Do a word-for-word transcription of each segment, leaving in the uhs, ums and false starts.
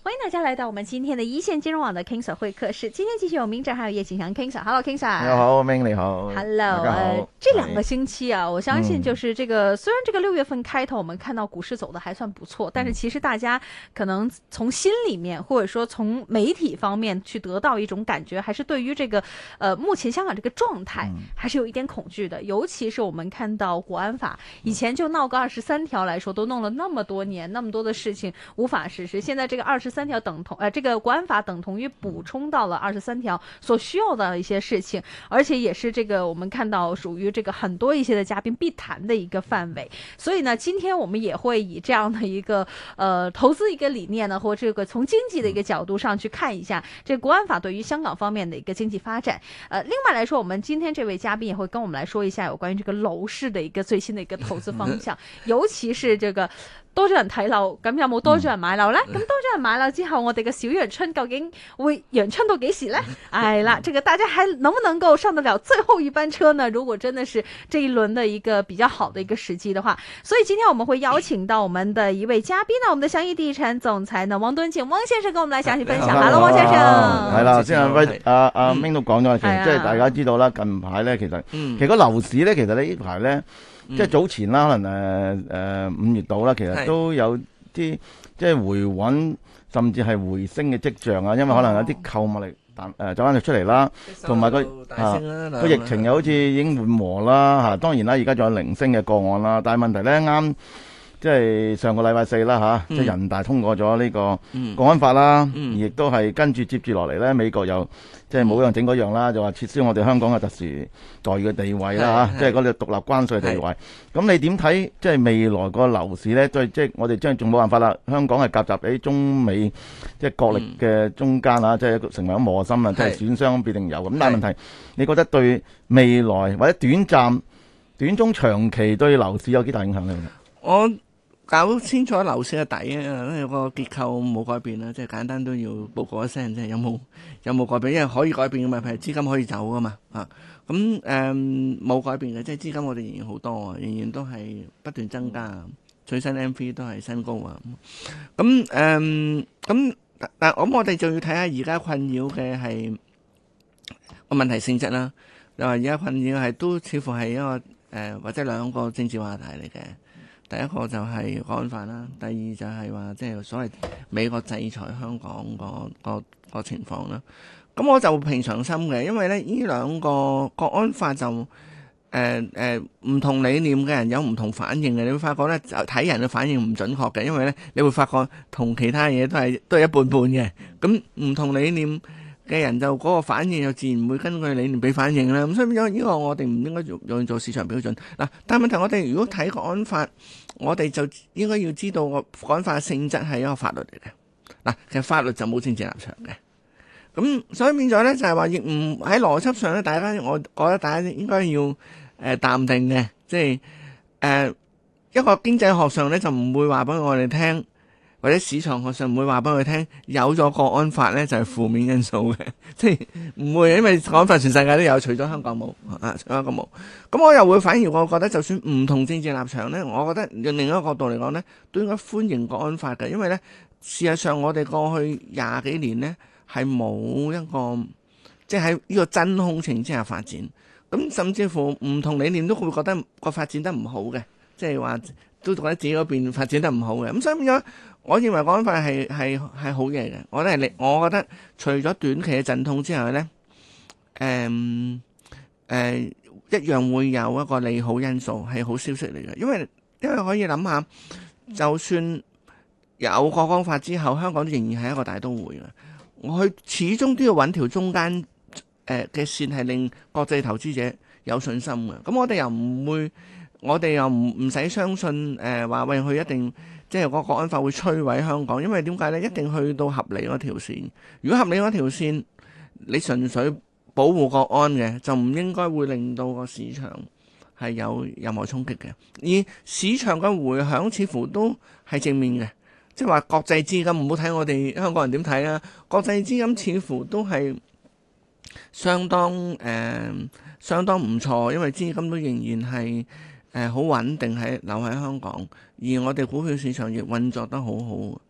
欢迎大家来到我们今天的一线金融网的 King Sir 会客室。今天继续有明正还有叶景祥 King Sir。Hello King Sir。 你好，明你好。 Hello，呃，这两个星期啊，我相信就是这个，嗯、虽然这个六月份开头我们看到股市走的还算不错，但是其实大家可能从心里面或者说从媒体方面去得到一种感觉，还是对于这个呃目前香港这个状态还是有一点恐惧的。尤其是我们看到国安法以前就闹个二十三条来说，都弄了那么多年，那么多的事情无法实施，现在这个二十三条等同呃这个国安法等同于补充到了二十三条所需要的一些事情，而且也是这个我们看到属于这个很多一些的嘉宾必谈的一个范围。所以呢，今天我们也会以这样的一个呃投资一个理念呢，或这个从经济的一个角度上去看一下这个国安法对于香港方面的一个经济发展。呃，另外来说，我们今天这位嘉宾也会跟我们来说一下有关于这个樓市的一個最新的一個投資方向，尤其是這個多咗人睇樓，咁有冇多咗人買樓呢？咁多咗人買樓之後，我哋嘅小陽春究竟會陽春到幾時呢？哎啦，這個大家還能不能夠上得了最後一班車呢？如果真的是這一輪的一個比較好的一個時機的話，所以今天我們會邀請到我們的一位嘉賓呢，我們的祥益地產總裁呢，汪敦敬汪先生跟我們來詳細分享。Hello， 汪先生。 係啦，先阿威阿阿明都講咗，其實即係大家知道啦，近排咧其實其實個樓市咧，其實呢排咧。即係早前啦，可能誒誒五月度啦，其實都有啲即係回穩，甚至係回升嘅跡象啊。因為可能有啲購物力彈誒走翻咗出嚟啦，同埋個啊個疫情又好似已經緩和啦嚇。當然啦，而家仲有零星嘅個案啦，但係問題咧啱。即係上個禮拜四啦嚇，即係人大通過咗呢個國安法啦，而亦都係跟住接住落嚟咧，美國又即係冇樣整嗰樣啦，就話撤銷我哋香港嘅特殊待遇嘅地位啦嚇，即係嗰啲獨立關稅地位。咁你點睇即係未來個樓市咧？即係即係我哋將仲冇辦法啦，香港係夾雜喺中美即係角力嘅中間啊，即係成為咗磨心啊，即係損傷必定有。咁但係問題，你覺得對未來或者短暫、短中長期對樓市有幾大影響咧？ 我搞清楚樓市嘅底啊，因為個結構冇改變啦，即係簡單都要報告一聲，即係有冇有冇改變，因為可以改變嘅嘛，譬如資金可以走噶嘛，啊咁誒冇改變嘅，即係資金我哋仍然好多啊，仍然都係不斷增加，最新 M V 都係新高啊，咁誒咁但係咁我哋就要睇下而家困擾嘅係個問題性質啦。你話而家困擾係都似乎係一個誒、呃、或者兩個政治話題嚟嘅。第一個就係國安法啦，第二就係話即係所謂美國制裁香港個個個情況啦。咁我就平常心嘅，因為咧呢兩個國安法就誒誒唔同理念嘅人有唔同反應嘅。你會發覺咧就睇人嘅反應唔準確嘅，因為咧你會發覺同其他嘢都係都係一半半嘅。咁唔同理念嘅人就嗰個反應就自然會根據理念俾反應啦。咁所以變咗呢個我哋唔應該用用做市場標準嗱。但係問題我哋如果睇國安法，我哋就應該要知道個國安法嘅性質係一個法律嚟嘅嗱。其實法律就冇政治立場嘅。咁所以變咗咧就係話亦唔喺邏輯上咧，大家我覺得大家應該要誒、呃、淡定嘅，即係誒、呃、一個經濟學上咧就唔會話俾我哋聽。或者市場學上唔會話俾佢聽，有咗國安法咧就係負面因素嘅，即係唔會，因為國安法全世界都有，除咗香港冇啊，除咗香港冇。咁我又會反而我覺得，就算唔同政治立場咧，我覺得用另一個角度嚟講咧，都應該歡迎國安法嘅，因為咧事實上我哋過去廿幾年咧係冇一個即係喺呢個真空情之下發展，咁甚至乎唔同理念都會覺得個發展得唔好嘅，即係話都覺得自己嗰邊發展得唔好嘅，咁所以變咗。我認為國安法係係係好嘢嘅，我覺得係我覺得除咗短期嘅陣痛之外咧，誒、嗯、誒、呃、一樣會有一個利好因素係好消息嚟嘅，因為因為可以諗下，就算有國安法之後，香港仍然係一個大都會嘅，我去始終都要揾條中間誒嘅線係令國際投資者有信心嘅。咁我哋又唔會，我哋又唔唔使相信誒話喂佢一定。即係個國安法會摧毀香港，因為點解呢？一定去到合理嗰條線。如果合理嗰條線，你純粹保護國安嘅，就唔應該會令到個市場係有任何衝擊嘅。而市場嘅迴響似乎都係正面嘅，即係話國際資金唔好睇我哋香港人點睇啊！國際資金似乎都係相當誒、呃、相當唔錯，因為資金都仍然係。誒好穩定喺留喺香港，而我哋股票市場亦運作得好好。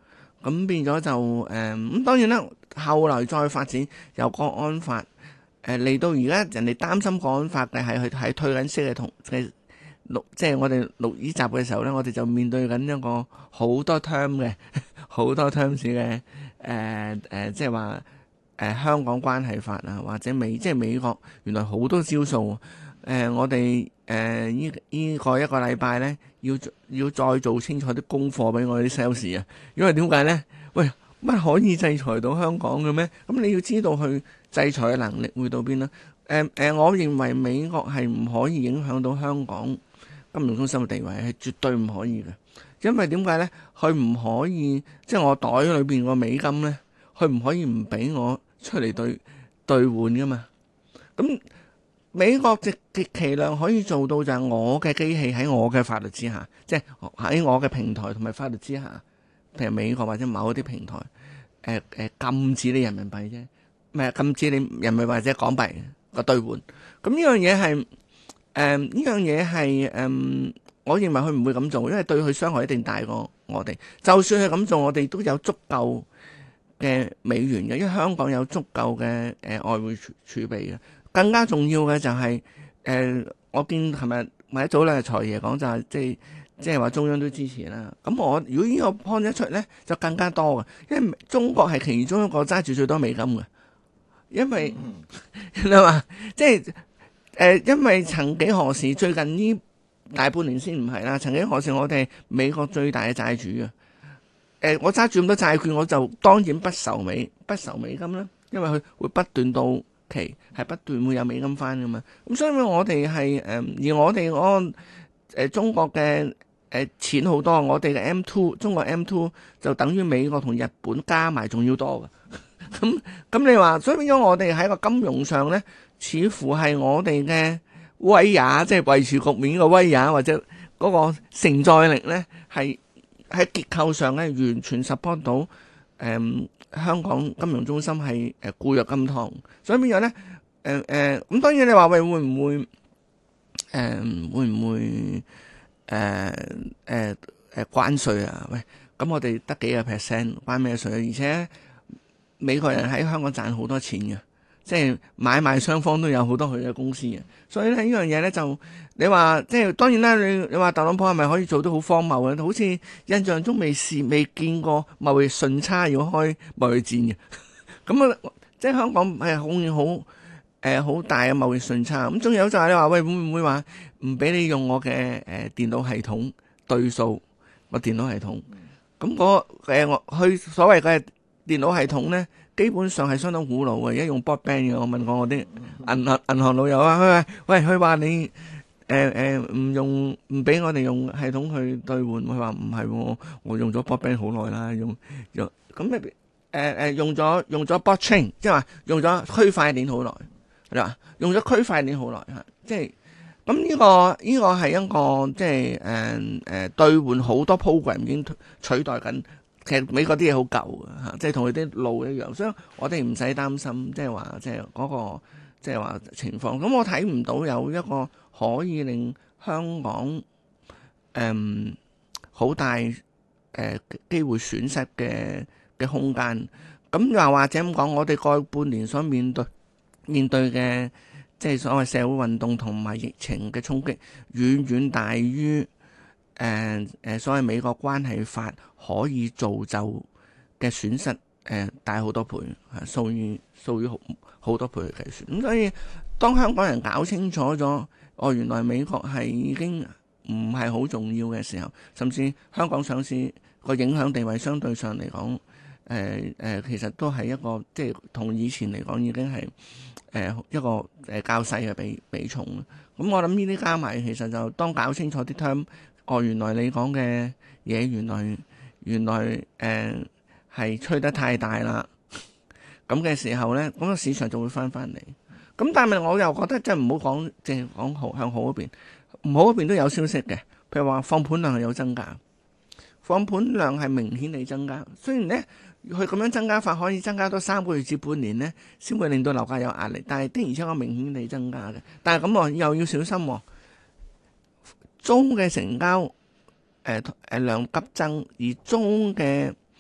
咁變咗就誒咁、呃、當然啦，後來再發展由國安法誒嚟、呃、到而家，人哋擔心國安法嘅係去係退緊息嘅同嘅錄，即係我哋錄呢集嘅時候咧，我哋就面對緊一個好多 term 嘅好多 terms 嘅誒誒，即係話誒香港關係法啊，或者美即係美國原來好多招數誒、呃，我哋誒依依個一個禮拜咧，要要再做清楚啲功課俾我哋啲 sales 啊，因為點解咧？喂，乜可以制裁到香港嘅咩？咁你要知道去制裁嘅能力會到邊啦？誒、呃、誒、呃，我認為美國係唔可以影響到香港金融中心嘅地位，係絕對唔可以嘅。因為點解咧？佢唔可以即係我袋裏邊個美金咧，佢唔可以唔俾我出嚟兌兌換噶嘛？咁美國極極其量可以做到就係我嘅機器喺我嘅法律之下，即係喺我嘅平台同埋法律之下，譬如美國或者某一啲平台，誒、呃、誒、呃、禁止你人民幣啫，唔係禁止你人民幣或者港幣個兌換。咁呢樣嘢係誒呢樣嘢係誒，我認為佢唔會咁做，因為對佢傷害一定大過我哋。就算佢咁做，我哋都有足夠嘅美元嘅，因為香港有足夠嘅誒、呃、外匯儲儲備嘅。更加重要嘅就係、是、誒、呃，我見琴日或者早兩日財爺講就係、是、即係即係話中央都支持啦。咁我如果呢個 point 一出咧，就更加多嘅，因為中國係其中一個揸住最多美金嘅，因為你話即係誒、呃，因為曾幾何時最近呢大半年先唔係啦，曾幾何時我哋係美國最大嘅債主啊！誒、呃，我揸住咁多債券，我就當然不愁美不愁美金啦，因為佢會不斷到期係不斷會有美金翻噶嘛，咁所以我哋係誒，而我哋我誒中國嘅誒、呃、錢好多，我哋嘅 M two 中國 M two 就等於美國同日本加埋仲要多嘅，咁咁你話，所以變咗我哋喺個金融上咧，似乎係我哋嘅威也，即係維持局面嘅威也，或者嗰個承載力咧，係喺結構上咧完全 support 到誒。嗯香港金融中心係誒固若金湯，所以變咗咧誒誒咁當然你話喂會唔會誒、呃、會唔會誒誒誒關稅啊？喂，咁我哋得幾個 percent 關咩稅啊？而且美國人喺香港賺好多錢嘅，即係買賣雙方都有好多佢嘅公司嘅，所以咧呢樣嘢咧就你話即係當然啦，你你話特朗普係咪可以做到好荒謬嘅？好似印象中未試未見過貿易順差要開貿易戰嘅，咁啊即係香港係好好誒好大嘅貿易順差。咁仲有就係你話喂會唔會話唔俾你用我嘅誒、呃、電腦系統對數個電腦系統？咁嗰誒我去所謂嘅電腦系統咧，基本上係相當古老嘅，而家用 broadband 嘅。我問過我啲銀行銀行老友啊，佢話喂佢話你。誒誒，唔用唔俾我哋用系統去兌換，佢話唔係，我用咗 broadband 好耐啦，用用咁誒誒用咗用咗 blockchain，即係話用咗區塊鏈好耐，係嘛？用咗區塊鏈好耐吓，即係咁呢個呢個係一個即係誒誒兌換好多 program 已經取代緊，其實美國啲嘢好舊嘅吓，即係同佢啲路一樣，所以我哋唔使擔心，即係話即係嗰個即係話情況。咁我睇唔到有一個可以令香港誒好、嗯、大誒、呃、機會損失嘅嘅空間。咁又或者咁講，我哋過去半年所面對面對嘅即係所謂社會運動同埋疫情嘅衝擊，遠遠大於誒誒、呃呃、所謂美國關係法可以造就嘅損失誒、呃、大好多倍，係數以數以好好多倍去計算。咁所以當香港人搞清楚咗，哦，原來美國係已經唔係好重要嘅時候，甚至香港上市個影響地位相對上嚟講，誒、呃、誒、呃，其實都係一個即係同以前嚟講已經係誒、呃、一個誒較細嘅比比重。咁我諗呢啲加埋，其實就當搞清楚啲 term，哦，原來你講嘅嘢，原來原來誒係、呃、吹得太大啦，咁嘅時候咧，咁個市場就會翻翻嚟。咁但係我又覺得即係唔好講，淨係講好向好嗰邊，唔好嗰邊都有消息嘅。譬如話放盤量係有增加，放盤量係明顯地增加。雖然咧佢咁樣增加法可以增加多三個月至半年咧，先會令到樓價有壓力。但係的而且確明顯地增加嘅。但係咁我又要小心喎，租嘅成交誒誒、呃、量急增，而租嘅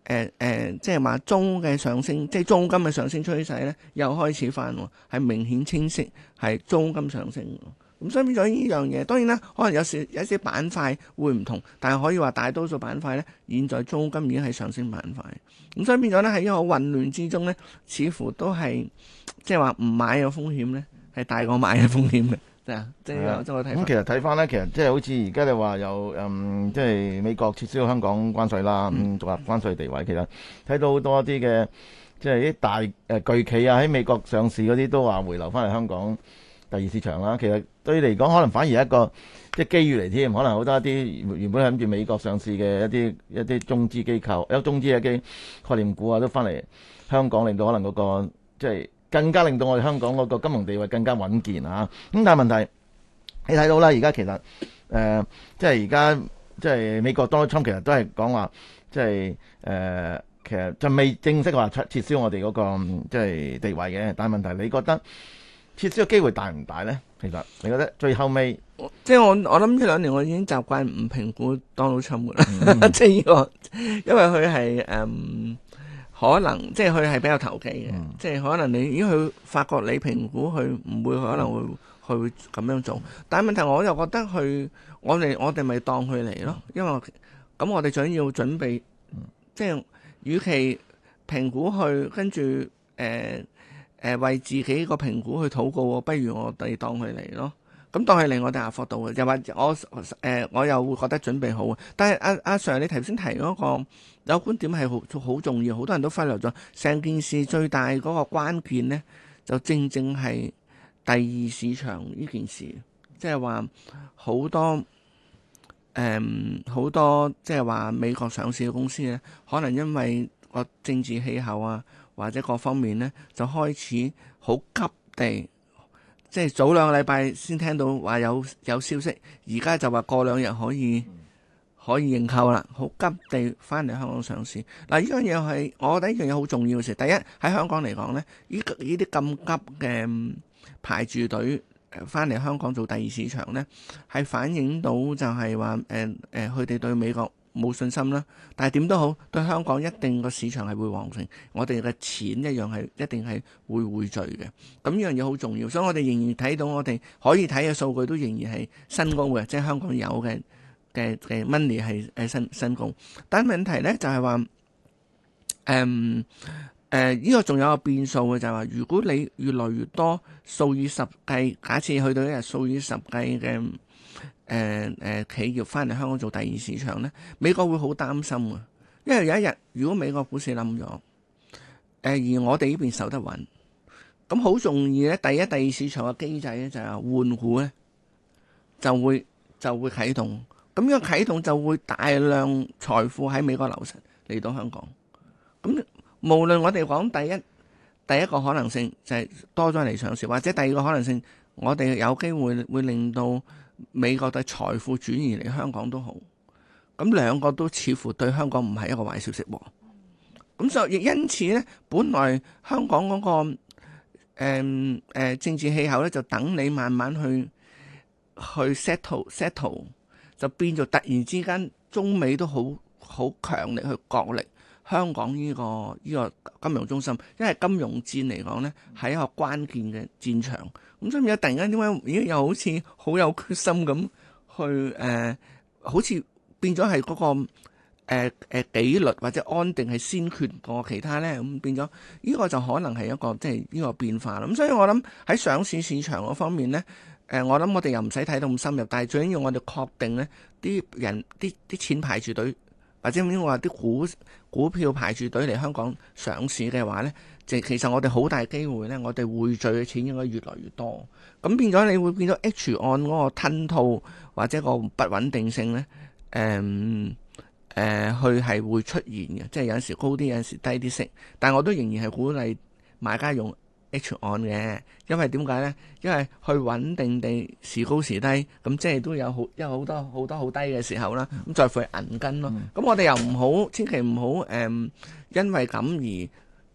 誒誒，即係話租嘅上升，即係租金嘅上升趨勢咧，又開始翻喎，係明顯清晰，係租金上升。咁所以變咗呢樣嘢，當然啦，可能有時有啲板塊會唔同，但係可以話大多數板塊咧，現在租金已經係上升板塊。咁所以變咗咧，喺一個混亂之中咧，似乎都係即係話唔買嘅風險咧，係大過買嘅風險嘅。即係即係即係我睇。 咁其實睇翻咧，其實即係好似而家你話有嗯，即係美國撤銷香港關稅啦，咁獨立關稅地位，其實睇到好多啲嘅即係啲大誒、呃、巨企啊，喺美國上市嗰啲都話回流翻嚟香港第二市場啦。其實對你嚟講，可能反而係一個即係機遇嚟添。可能好多一啲原本諗住美國上市嘅一啲一啲中資機構，有中資嘅機概念股啊，都翻嚟香港，令到可能嗰、嗰個即係更加令到我哋香港嗰個金融地位更加穩健啊。咁但係問題你睇到啦，而家其實誒、呃、即係而家即係美國 Donald Trump 其實都係講話，即係誒、呃、其實就未正式話撤撤銷我哋嗰、嗰個即係地位嘅。但係問題，你覺得撤銷嘅機會大唔大咧？其實你覺得最後尾， 即係我我諗呢兩年我已經習慣唔評估 Donald Trump 啦，嗯、即係呢個，因為佢係誒可能即係佢係比較投機嘅，嗯、即係可能你如果佢發覺你評估佢唔會可能會佢會咁樣做，但係問題我又覺得佢我哋我哋咪當佢嚟咯，因為咁我哋想要準備，嗯、即係與其評估佢跟住誒。呃誒、呃、為自己個評估去禱告，不如我哋當佢嚟咯。咁當佢嚟，我哋下課到嘅，又話我誒、呃、我又會覺得準備好。但係阿阿 Sir，你頭先提嗰個有觀點係好好重要，好多人都忽略咗。成件事最大嗰個關鍵呢，就正正係第二市場呢件事，即係話好多誒好、呃、多即係話美國上市嘅公司呢，可能因為個政治氣候啊。或者各方面呢，就開始好急地，即係早兩個禮拜先聽到話有有消息，而家就話過兩日可以可以認購啦，好急地翻嚟香港上市。嗱，呢樣嘢係我覺得呢樣嘢好重要嘅事。第一喺香港嚟講呢，呢呢啲咁急嘅排住隊翻嚟香港做第二市場呢，係反映到就係話誒誒，佢哋對美國冇信心啦，但係點都好，對香港一定個市場係會旺盛，我哋嘅錢一樣係一定係會匯聚嘅。咁呢樣嘢好重要，所以我哋仍然睇到我哋可以睇嘅數據都仍然係新高嘅，即係香港有嘅嘅嘅 money 係誒新新高。但係問題咧就係話，誒誒呢個仲有個變數嘅就係話，如果你越來越多數以十計，假設去到一日數以十計嘅。誒誒、呃呃、企業翻嚟香港做第二市場咧，美國會好擔心啊！因為有一日如果美國股市冧咗，誒、呃、而我哋呢邊守得穩，咁好容易咧，第一、第二市場嘅機制咧就係換股咧，就會就會啟動，咁呢個啟動就會大量財富喺美國流失嚟到香港。咁無論我哋講第一第一個可能性就係多咗嚟上市，或者第二個可能性，我哋有機會會令到美國嘅財富轉移嚟香港都好，咁兩個都似乎對香港唔係一個壞消息喎。咁所以因此咧，本來香港嗰、那個誒誒、呃呃、政治氣候咧，就等你慢慢去去 settle settle，就變咗突然之間中美都好好強力去角力香港呢、這個呢、這個金融中心，因為金融戰嚟講咧係一個關鍵嘅戰場。咁所以突然間點解咦又好似好有決心咁去誒、呃，好似變咗係嗰個誒誒、呃呃、紀律或者安定係先決過其他咧？咁變咗呢個就可能係一個即係呢個變化啦。咁所以我諗喺上市市場嗰方面咧，誒、呃、我諗我哋又唔使睇到咁深入，但係最緊要我哋確定咧，啲人啲啲錢排住隊，或者點講話啲股股票排住隊嚟香港上市嘅話咧。即其實我哋好大機會咧，我哋匯聚嘅錢應該越來越多，咁變咗你會變咗 H 按嗰個吞吐或者個不穩定性咧，誒誒佢係會出現嘅，即係有陣時高啲，有陣時低啲息，但係我都仍然係鼓勵買家用 H 按嘅，因為點解咧？因為去穩定地時高時低，咁即係都有好有好多好多好低嘅時候啦，咁再付銀根咯。咁、嗯、我哋又唔好，千祈唔好誒，因為咁而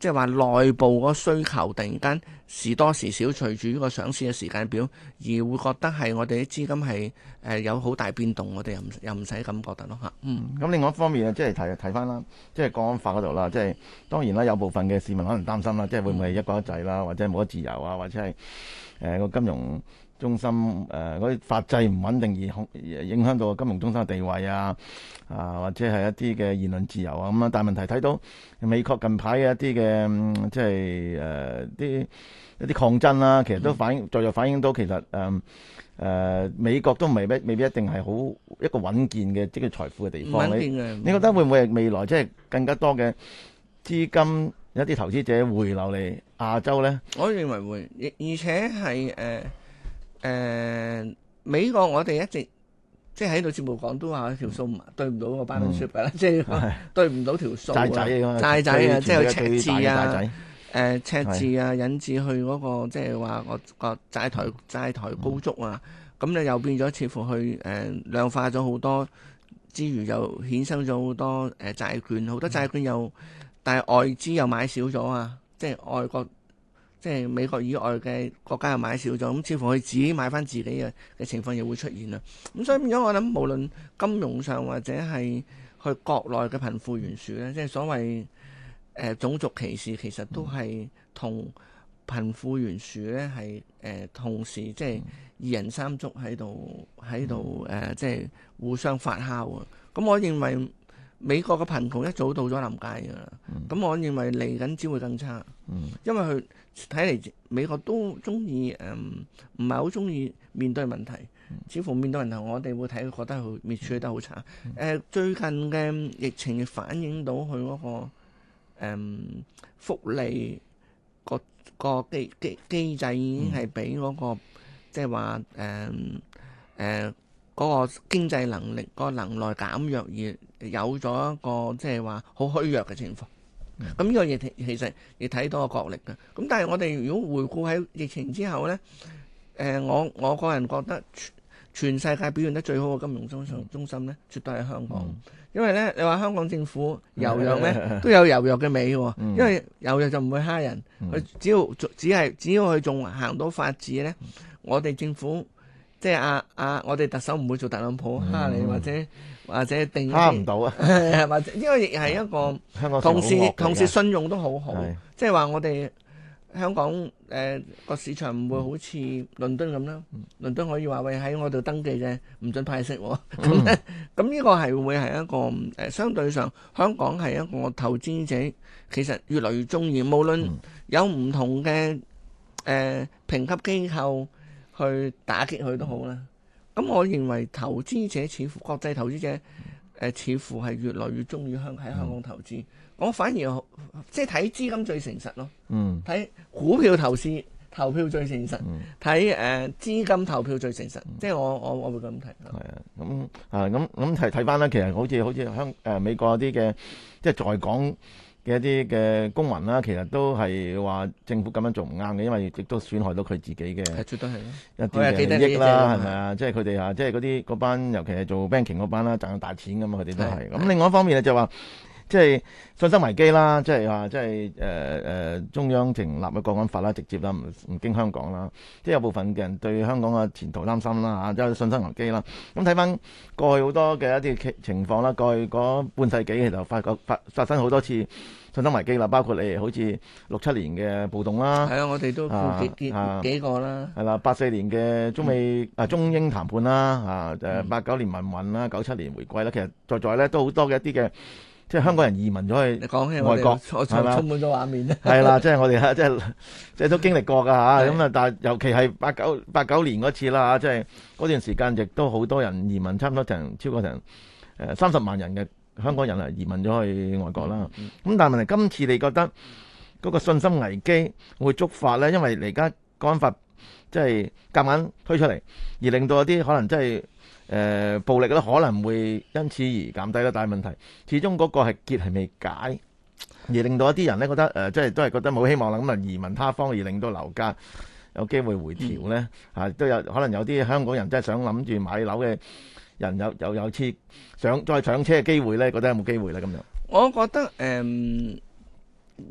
即係話內部嗰個需求突然間時多時少，隨住呢個上市嘅時間表，而會覺得係我哋啲資金係誒有好大變動，我哋又唔又唔使咁覺得咯嚇。嗯， 咁另外一方面啊，即係睇睇翻啦，即係國安法嗰度啦，即係當然啦，有部分嘅市民可能擔心啦，即係會唔會係一國一制啦，或者冇得自由啊，或者係誒個金融中心誒嗰啲法制唔穩定而而影響到金融中心嘅地位啊，啊或者係一啲嘅言論自由啊咁啊，但係問題睇到美國近排嘅一啲嘅即係誒啲一啲抗爭啦，其實都反映再再反映到其實誒誒、呃呃、美國都未必未必一定係好一個穩健嘅即係財富嘅地方。 穩健嘅，你覺得會唔會係未來即係更加多嘅資金一啲投資者回流嚟亞洲咧？ 我認為會，而而且係誒。呃誒、呃、美國我哋一直即係喺度節目講都話條數唔對唔到個 balance sheet 啦，即係對唔到條數啊，債仔啊，債仔啊，即係赤字啊，誒、呃、赤字啊，引致去嗰、那個即係話個個債台債台高築啊，咁、嗯、你又變咗似乎去誒、呃、量化咗好多之餘，又衍生咗好多誒、呃、債券，好多債券又、嗯、但係外資又買少咗啊，即係外國。即係美國以外嘅國家又買少咗，咁似乎佢自己買翻自己嘅嘅情況又會出現啦。咁所以變咗我諗，無論金融上或者係去國內嘅貧富懸殊咧，即係所謂誒、呃、種族歧視，其實都係同貧富懸殊咧係誒同時即係二人三足喺度喺度誒，即係互相發酵啊。咁我認為美國嘅貧窮一早到咗臨界㗎啦。咁、嗯、我認為嚟緊只會更差，嗯、因為佢。睇嚟美國都中意誒，唔係好中意面對問題，似乎面對問題我哋會睇覺得佢面處理得好差。誒、呃、最近嘅疫情亦反映到佢嗰、那個誒、嗯、福利個個機機機制已經係俾嗰個即係話誒誒嗰個經濟能力、嗰個能耐減弱，而有咗一個即係話好虛弱嘅情況。咁呢個嘢其實亦睇到個角力嘅，咁但係我哋如果回顧喺疫情之後呢，誒、呃、我我個人覺得全世界表現得最好嘅金融中心中心呢，絕對係香港，嗯、因為呢，你話香港政府柔弱呢，都有柔弱嘅美喎，嗯、因為柔弱就唔會蝦人，佢、嗯、只要只係只要佢仲行到法治呢，嗯、我哋政府即係阿阿我哋特首唔會做特朗普蝦你、嗯、或者。或者定蝦唔到啊， 或者呢個亦係一個同時同時信用都好好，即係話我哋香港誒個、呃、市場唔會好似倫敦咁啦，嗯、倫敦可以話喂喺我度登記嘅唔准派息，咁咧咁呢個係會係一個誒、呃、相對上香港係一個投資者其實越嚟越中意，無論有唔同嘅誒、呃、評級機構去打擊佢都好啦。咁我認為投資者似乎國際投資者誒、呃、似乎係越來越中意香喺香港投資，嗯、我反而即係睇資金最誠實咯，睇、嗯、股票投資投票最誠實，睇誒、嗯呃、資金投票最誠實，嗯、即係我我我會咁睇。係啊， 咁啊咁咁睇睇翻啦，其實好似好似香誒美國啲嘅即係在港嘅一啲嘅公民啦，其實都係話政府咁樣做唔啱嘅，因為亦都損害到佢自己嘅， 係絕對係一啲嘅利益啦，係咪啊？即係佢哋啊，即係嗰啲嗰班，尤其係做 banking 嗰班啦，賺大錢咁嘛，佢哋都係。咁另外一方面咧就話，即係信心危機啦，即係話即係誒誒中央成立嘅國安法啦，直接啦，唔唔經香港啦，即係有部分嘅人對香港嘅前途擔心啦嚇，即係信心危機啦。咁睇翻過去好多嘅一啲情況啦，過去嗰半世紀其實發覺發發生好多次信心危機啦，包括你好似六七年嘅暴動啦， 係啊，我哋都幾幾、啊、幾個啦， 係啦，八四年嘅中美、嗯、啊中英談判啦，啊誒八九年民運啦，九七年回歸啦，其實在在咧都好多嘅一啲嘅。即係香港人移民咗去外國，係嘛？充滿咗畫面咧。係啦，即係我哋即係即係都經歷過㗎嚇。咁啊，但係尤其係八九八九年嗰次啦嚇，即係嗰段時間亦都好多人移民，差唔多成超過成誒三十萬人嘅香港人啊移民咗去外國啦。咁、嗯嗯、但係問題今次你覺得嗰個信心危機會觸發咧？因為而家國安法即係夾硬推出嚟，而令到一啲可能即係。誒、呃、暴力咧可能會因此而減低啦，但係問題始終嗰個係結係未解，而令到一啲人咧覺得誒、呃，即係都係覺得冇希望啦，咁啊移民他方，而令到樓價有機會回調咧，嚇、嗯、都有可能有啲香港人真係想諗住買樓嘅人有有有次想再上車嘅機會咧，覺得有冇機會咧咁樣？ 我覺得誒、嗯、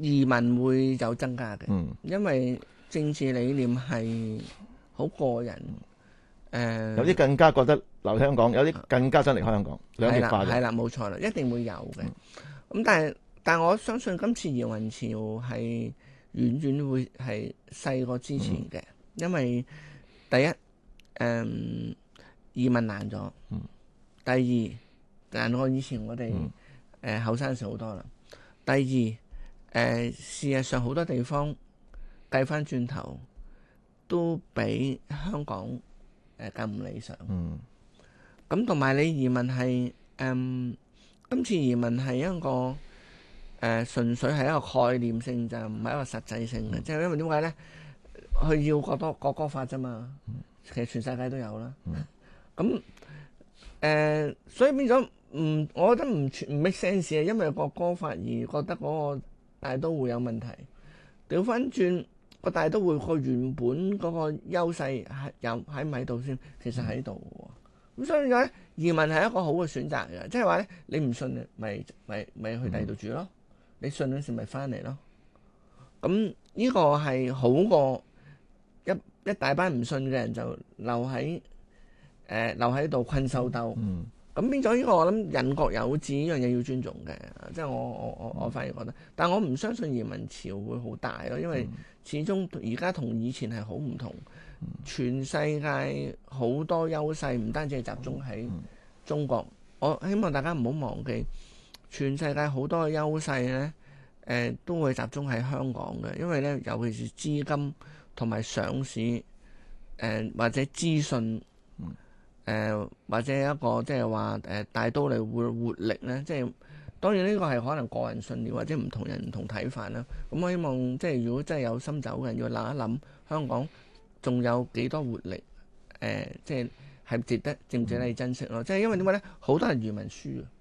移民會有增加嘅， 嗯， 因為政治理念係好個人，誒、呃、 有啲更加覺得留香港，有啲更加想離開香港，兩極化嘅。 係啦，冇錯啦，一定會有嘅。咁、嗯、但係但係我相信今次移民潮係遠遠會係細過之前嘅，嗯、因為第一誒、嗯、移民難咗， 嗯、第二難過以前我哋誒後生時好多啦。第二誒、呃、事實上好多地方計翻轉頭都比香港誒更唔理想。咁同埋你移民係誒、嗯、今次移民係一個誒、呃、純粹係一個概念性，就唔係一個實際性嘅。即係、嗯、因為點解咧？佢要國多國歌法啫嘛，其實全世界都有啦。咁誒、嗯呃，所以變咗唔，我覺得唔唔 make sense 嘅，因為國歌法而覺得嗰個大都會有問題。調翻轉個大都會個原本嗰個優勢係有喺唔喺度先？其實喺度嘅。咁所以咧，移民係一個好嘅選擇嘅，即係話咧，你唔信咪咪咪去第二度住咯，嗯、你信嗰時咪翻嚟咯。咁呢個係好過一一大班唔信嘅人就留喺誒、呃、留喺度困獸鬥。嗯咁變咗呢個，我諗人各有志呢樣嘢要尊重嘅，即係我我我我反而覺得，但我唔相信移民潮會好大咯，因為始終而家同以前係好唔同，全世界好多優勢唔單止係集中喺中國，我希望大家唔好忘記，全世界好多嘅優勢呢，誒、呃、都會集中喺香港嘅，因為呢，尤其是資金同埋上市，誒、呃、或者資訊。誒、呃、或者一個即係話誒大都嚟活活力咧，即係當然呢個係可能個人信念或者唔同人唔同睇法啦。咁我希望即係如果真係有心走嘅人要諗一諗，香港仲有幾多活力？誒、呃、即係係值得值唔值得你珍惜咯？即係因為點解咧？好多人移民輸啊！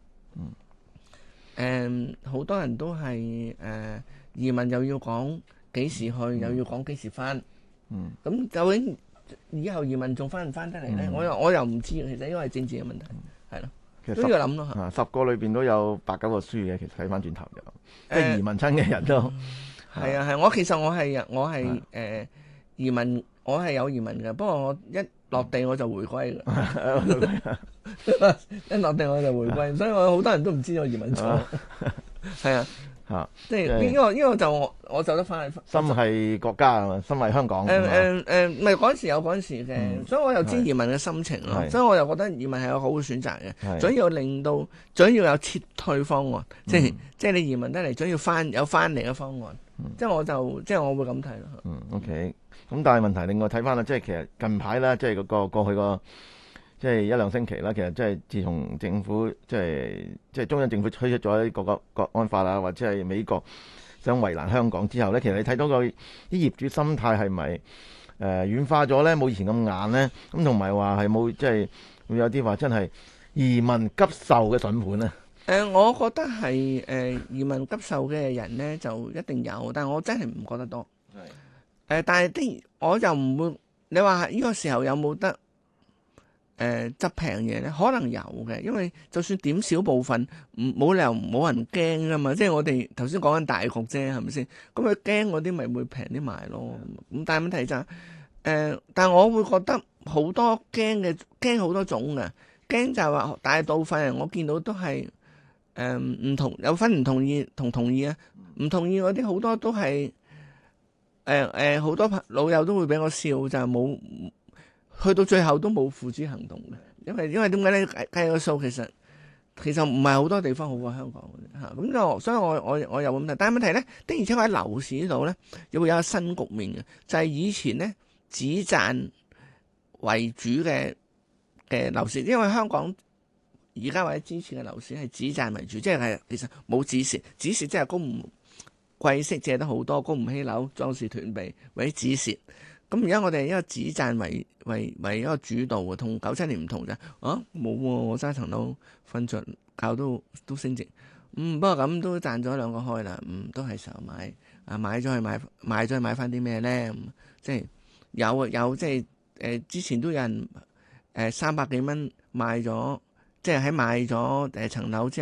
誒好、呃、多人都係誒、呃、移民又要講幾時去，嗯、又要講幾時翻。嗯，咁究竟以後移民仲翻唔翻得嚟咧？我又我又唔知，其實因為係政治嘅問題，係咯，其實都要諗咯。 啊，十個裏邊都有八九個輸嘅，其實睇翻轉頭就，即係移民親嘅人都係啊係。我其實我係我係誒移民，我係有移民嘅，不過我一落地我就回歸嘅，一落地我就回歸，所以我好多人都唔知我移民咗，係啊。啊！即係呢個呢個就我我走得翻去， 心係國家啊嘛，心係香港。 誒誒誒，唔係嗰陣時有嗰陣時嘅，嗯、所以我又知移民嘅心情咯。是所以我又覺得移民係個好嘅選擇嘅。總是要令到，總要有撤退方案，嗯、即係即係你移民得嚟，總要翻有翻嚟嘅方案。嗯、即係我就即係我會咁睇咯。 嗯，OK。咁但係問題，另外睇翻啦，即係其實近排啦，即係嗰個過去個。即係一兩星期啦，其實即係自從政府即係即係中央政府推出咗啲個個國安法啊，或者係美國想為難香港之後咧，其實你睇到個啲業主心態係咪誒軟化咗咧？冇以前咁硬咧？咁同埋話係冇即係會有啲話真係移民急售嘅筍盤咧？誒、 呃，我覺得係誒、呃、移民急售嘅人咧就一定有，但係我真係唔覺得多。係誒是、呃，但係啲我就唔會你話呢個時候有冇得？誒執平嘢咧，可能有嘅，因為就算點少部分，唔冇理由冇人驚噶嘛。即係我哋頭先講緊大局啫，係咪先？咁佢驚嗰啲咪會平啲賣咯。咁但係問題就係、是、誒、呃，但係我會覺得好多驚嘅驚好多種嘅驚就係話大部分人我見到都係誒唔同，有分唔同意同同意啊。唔同意嗰啲好多都係誒誒好多老友都會俾我笑，就係冇。去到最後都冇付諸行動嘅，因為因為點解咧？計計個數其實其實唔係好多地方好過香港嘅嚇，咁就所以我我我有咁睇。但係問題咧，的而且確喺樓市呢度咧，又會有一個新局面嘅，就係、是、以前咧止賺為主嘅嘅樓市，因為香港而家或者之前嘅樓市係止賺為主，即係其實冇止蝕，止蝕即係供唔貴息借得好多，供唔起樓壯士斷臂或者止蝕。咁而家我哋一個止賺為為為一個主導嘅，同九七年唔同啫。啊，冇喎、啊，我揸層樓瞓着覺都都升值。嗯，不過咁都賺咗兩個開啦。嗯，都係時候買啊，買咗去買買咗去買翻啲咩咧？即係有有即係誒、呃，之前都有人誒三百幾蚊賣咗，即係喺買咗誒層樓之後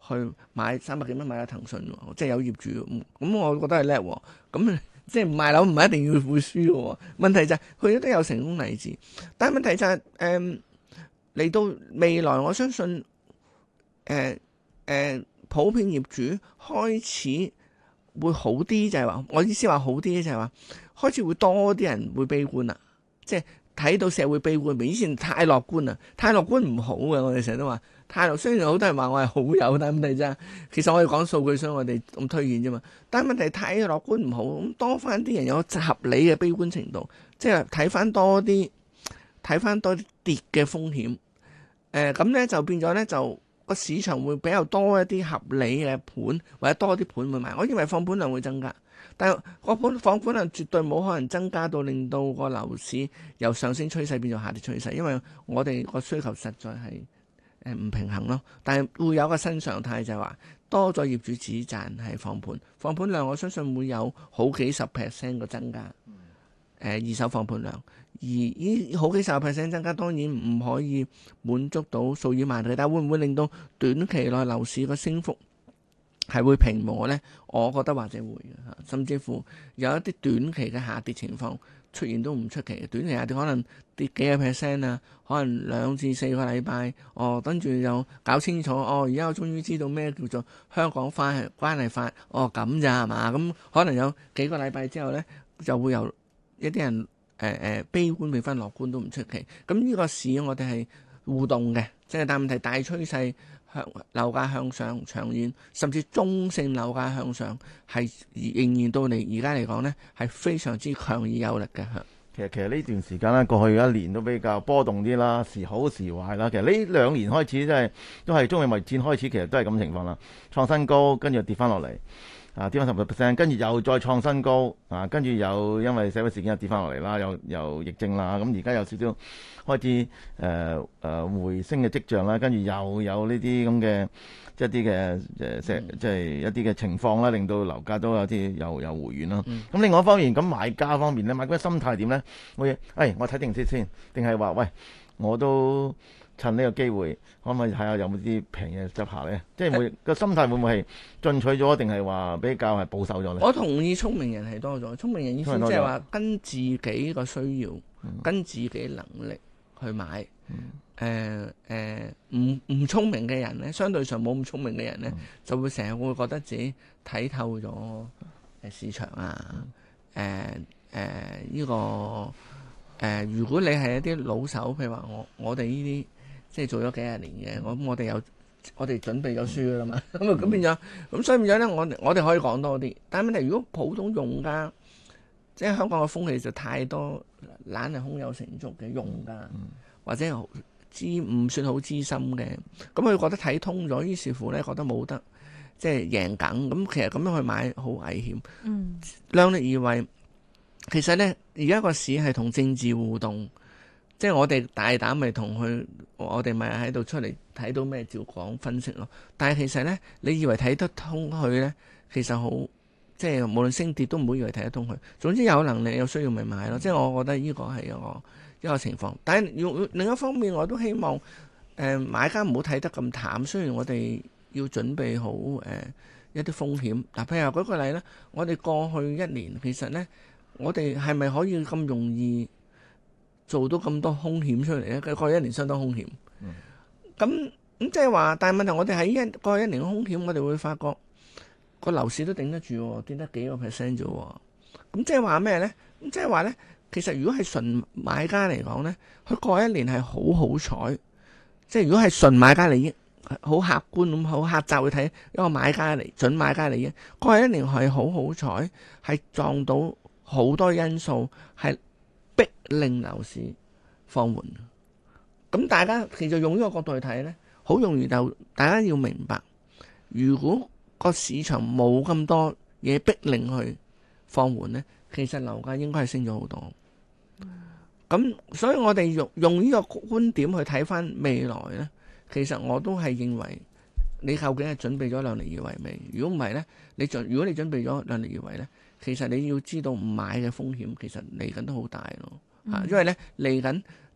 去買三百幾蚊買咗騰訊，即係有業主，咁我覺得係叻喎。咁即係唔賣樓唔係一定要會輸嘅。問題就係佢都有成功例子，但係問題就係誒嚟到未來，我相信誒誒、呃呃、普遍業主開始會好啲，就係話我意思話好啲就係話開始會多啲人會悲觀啦，即係睇到社會悲觀，比以前太樂觀啦，太樂觀唔好嘅。我哋成日都話太樂，雖然好多人話我係好友，但係問題啫，其實我哋講數據，所以我哋咁推薦啫嘛。但係問題太樂觀唔好，咁多翻啲人有合理嘅悲觀程度，即係睇翻多啲，睇翻多啲跌嘅風險。誒咁咧就變咗咧就個市場會比較多一啲合理嘅盤，或者多啲盤會買。我認為放盤量會增加，但係個盤放盤量絕對冇可能增加到令到個樓市由上升趨勢變做下跌趨勢，因為我哋個需求實在係誒唔平衡咯。但係會有個新常態就係話多咗業主只賺係放盤，放盤量我相信會有好幾十 percent 嘅增加。誒二手放盤量，而呢好幾十 percent 增加，當然唔可以滿足到數以萬計，但會唔會令到短期內樓市個升幅係會平和呢？我覺得或者會嘅，甚至乎有一啲短期嘅下跌情況出現都唔出奇嘅。短期下跌可能跌幾個 percent 啊，可能兩至四個禮拜，哦，跟住又搞清楚，哦，而家我終於知道咩叫做香港法關係法，哦咁咋係嘛？咁可能有幾個禮拜之後呢，就會有一啲人誒誒、呃、悲觀變翻樂觀都唔出奇。咁呢個市我哋係互動嘅，即係但問題大趨勢向樓價向上，長遠甚至中性樓價向上係仍然到嚟而家嚟講呢係非常之強而有力嘅。 其實其實呢段時間咧，過去一年都比較波動啲啦，時好時壞啦。其實呢兩年開始真係都係中美貿易戰開始，其實都係咁情況啦，創新高跟住跌翻落嚟。啊，跌翻十個 percent，跟住又再創新高，啊，跟住又因為社會事件又跌翻落嚟啦，又又疫症啦，咁而家有少少開始誒誒、呃呃、回升嘅跡象啦，跟住又有呢啲咁嘅即係一啲嘅誒石，即係一啲嘅情況啦，令到樓價都有啲又又回軟啦。咁、嗯、另外一方面，咁買家方面咧，買家心態點咧？我誒、哎，我睇定先先，定係話喂，我都趁呢個機會，可唔可以睇下有冇啲平嘢執下咧？即係會個心態會唔會係進取咗，定係話比較係保守咗咧？ 我同意聰明人係多咗，聰明人意思即係話跟自己個需要、嗯、跟自己能力去買。誒誒唔唔聰明嘅人咧，相對上冇咁聰明嘅人咧，嗯、就會成日會覺得自己睇透咗誒市場啊。誒誒呢個誒、呃，如果你係一啲老手，譬如話我我哋呢啲。即係做咗幾廿年嘅，我我哋有我哋準備咗書㗎啦嘛，咁啊咁變咗，咁所以變咗咧，我我哋可以講多啲。但係問題，如果普通用家，即係香港嘅風氣就太多懶係胸有成竹嘅用家，或者資唔算好資深嘅，咁佢覺得睇通咗，於是乎咧覺得冇得即係贏緊，咁其實咁樣去買好危險。嗯，量力而為，其實咧而家個市係同政治互動。即係我哋大膽咪同佢，我哋咪喺度出嚟睇到咩照講分析咯。但係其實咧，你以為睇得通佢咧，其實好即係無論升跌都唔好以為睇得通佢。總之有能力有需要咪買咯。即係我覺得呢個係一個一個情況。但係要另一方面，我都希望誒、呃、買家唔好睇得咁淡。雖然我哋要準備好誒、呃、一啲風險。嗱，譬如話舉個例咧，我哋過去一年其實咧，我哋係咪可以咁容易做到咁多風險出嚟咧？佢過去一年相當風險。咁咁即係話，但係問題我哋喺一過去一年嘅風險，我哋會發覺個樓市都頂得住，跌得幾個 percent 啫。咁即係話咩咧？咁即係話咧，其實如果係純買家嚟講咧，佢過去一年係好好彩。即係如果係純買家利益，好客觀咁好客觀去睇一個買家嚟準買家利益，過去一年係好好彩，係撞到好多因素係逼令樓市放緩，咁大家其實用呢個角度去睇呢，好容易就大家要明白，如果個市場冇咁多嘢逼令去放緩呢，其實樓價應該係升咗好多。咁所以我哋用用呢個觀點去睇翻未來呢，其實我都係認為你究竟係準備咗量力而為未？如果唔係呢，你準如果你準備咗量力而為呢，其實你要知道唔買嘅風險其實嚟緊都好大咯。啊、嗯，因為咧嚟緊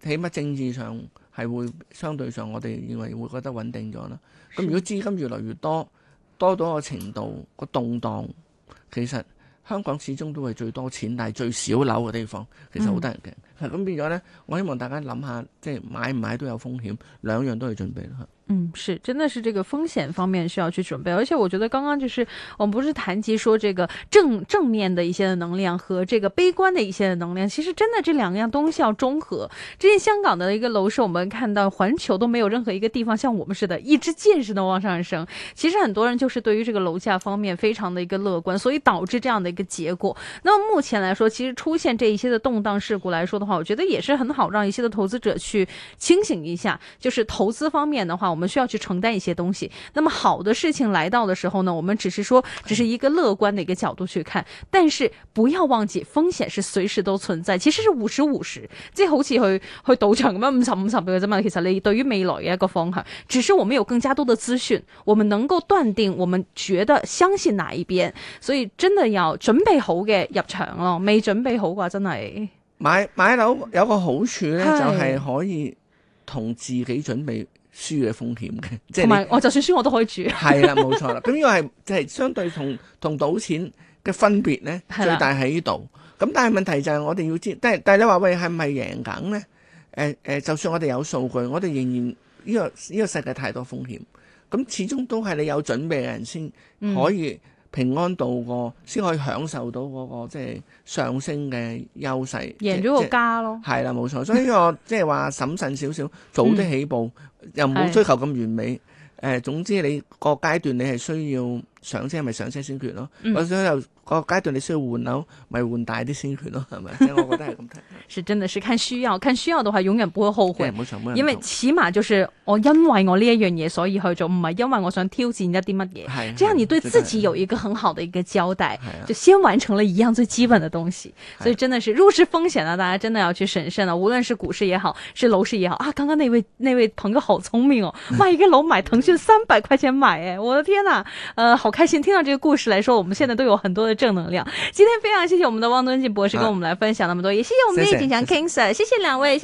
起碼政治上係會相對上我哋認為會覺得穩定咗啦。咁如果資金越來越多，多到個程度個動盪，其實香港始終都係最多錢但係最少樓嘅地方，其實好得人驚。咁、嗯、變咗呢，我希望大家諗下，即係買唔買都有風險，兩樣都要準備啦。 嗯，是，真的是這個風險方面需要去準備，而且我覺得剛剛就是我們不是談及說這個正正面的一些的能量和這個悲觀的一些的能量，其實真的這兩樣東西要中和。之前香港的一個樓市，我們看到環球都沒有任何一個地方像我們似的，一支箭似的往上升。其實很多人就是對於這個樓價方面非常的一個樂觀，所以導致這樣的一個結果。那麼目前來說，其實出現這一些的動盪事故來說的話，我覺得也是很好讓一些的投資者去清醒一下，就是投資方面的話，我們需要去承擔一些東西。那麼好的事情來到的時候呢，我們只是說只是一個樂觀的一個角度去看，但是不要忘記風險是隨時都存在，其實是五十五十，即係好似去去賭場咁樣五十五十嘅啫嘛。其實你對於未來嘅一個方向，只是我們有更加多的資訊，我們能夠斷定我們覺得相信哪一邊，所以真的要準備好嘅入場咯。未準備好嘅話，真係買買樓有個好處咧，就係可以同自己準備輸嘅風險嘅，即係同埋我就算輸我都可以住。 係啦，冇錯啦。咁呢個係即係相對同同賭錢嘅分別咧，最大喺呢度。咁但係問題就係我哋要知，但係但係你話喂係咪贏緊咧？誒、呃、誒，就算我哋有數據，我哋仍然呢、呢個呢、呢個世界太多風險，咁始終都係你有準備嘅人先可以平安度過，先、嗯、可以享受到嗰、嗰個即係上升嘅優勢， 贏咗個家咯。 係啦，冇錯。所以呢個即係話審慎少少，早啲起步，嗯、又唔好追求咁完美。誒、呃，總之你個階段你係需要上車，咪上車先決咯。或者又個階段你需要換樓，咪換大啲先決咯，係咪？即係我覺得係咁睇。 是真的是看需要，看需要的話，永遠不會後悔。 冇錯，冇錯。 因為起碼就是我因為我呢一樣嘢所以去做，唔係因為我想挑戰一啲乜嘢。係，這樣你對自己有一個很好的一個交代，就先完成了一樣最基本的東西。所以真的是入市風險啊，大家真的要去審慎啊。無論是股市也好，是樓市也好啊。剛剛那位那位朋友好聰明哦，買一個樓買騰訊三百塊錢買，誒，我的天呐，呃，好開心聽到這個故事來說，我們現在都有很多的正能量。今天非常謝謝我們的汪敦敬博士跟我們來分享那麼多，也謝謝我們的葉景強 King Sir，謝謝兩位。